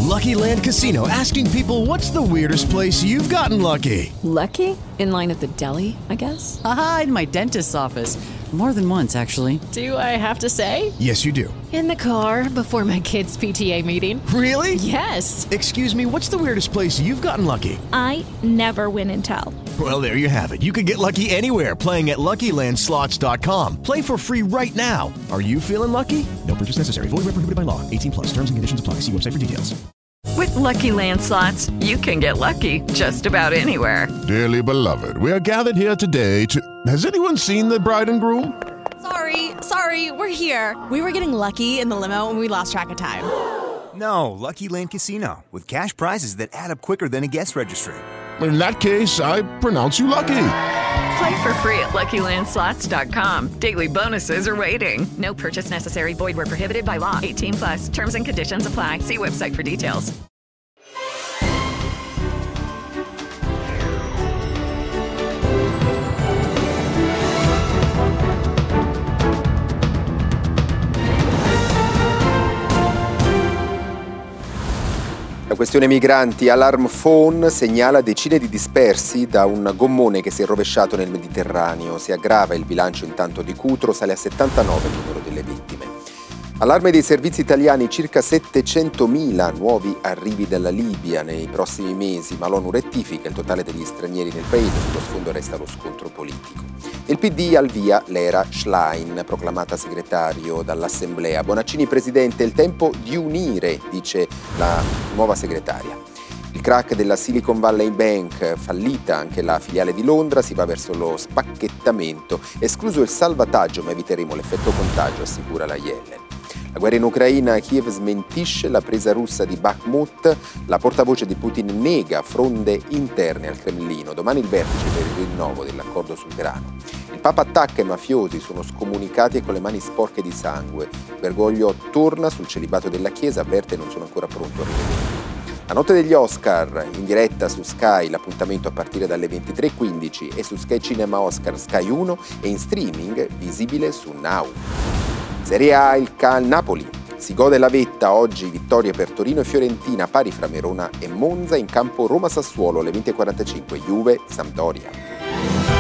Lucky Land Casino, asking people, what's the weirdest place you've gotten lucky? Lucky? In line at the deli, I guess? Aha, in my dentist's office. More than once, actually. Do I have to say? Yes, you do. In the car before my kids' PTA meeting. Really? Yes. Excuse me, what's the weirdest place you've gotten lucky? I never win and tell. Well, there you have it. You can get lucky anywhere, playing at LuckyLandSlots.com. Play for free right now. Are you feeling lucky? No purchase necessary. Void where prohibited by law. 18+. Terms and conditions apply. See website for details. With Lucky Land Slots, you can get lucky just about anywhere. Dearly beloved, we are gathered here today to... Has anyone seen the bride and groom? Sorry, we're here. We were getting lucky in the limo and we lost track of time. No, Lucky Land Casino, with cash prizes that add up quicker than a guest registry. In that case, I pronounce you lucky. Play for free at LuckyLandSlots.com. Daily bonuses are waiting. No purchase necessary. Void where prohibited by law. 18+. Terms and conditions apply. See website for details. La questione migranti, Alarm Phone segnala decine di dispersi da un gommone che si è rovesciato nel Mediterraneo. Si aggrava il bilancio intanto di Cutro, sale a 79 il numero delle vittime. Allarme dei servizi italiani, circa 700.000 nuovi arrivi dalla Libia nei prossimi mesi, ma l'ONU rettifica il totale degli stranieri nel paese, sullo sfondo resta lo scontro politico. Il PD al via l'era Schlein, proclamata segretario dall'Assemblea. Bonaccini presidente, il tempo di unire, dice la nuova segretaria. Il crack della Silicon Valley Bank, fallita anche la filiale di Londra, si va verso lo spacchettamento, escluso il salvataggio, ma eviteremo l'effetto contagio, assicura la Yellen. La guerra in Ucraina, Kiev smentisce la presa russa di Bakhmut, la portavoce di Putin nega fronde interne al Cremlino, domani il vertice per il rinnovo dell'accordo sul grano. Il Papa attacca i mafiosi, sono scomunicati e con le mani sporche di sangue. Bergoglio torna sul celibato della Chiesa, avverte non sono ancora pronto a rivederlo. La notte degli Oscar, in diretta su Sky, l'appuntamento a partire dalle 23:15 e su Sky Cinema Oscar Sky 1 e in streaming visibile su Now. Serie A, il Napoli si gode la vetta, oggi vittorie per Torino e Fiorentina, pari fra Verona e Monza, in campo Roma-Sassuolo alle 20:45, Juve-Sampdoria.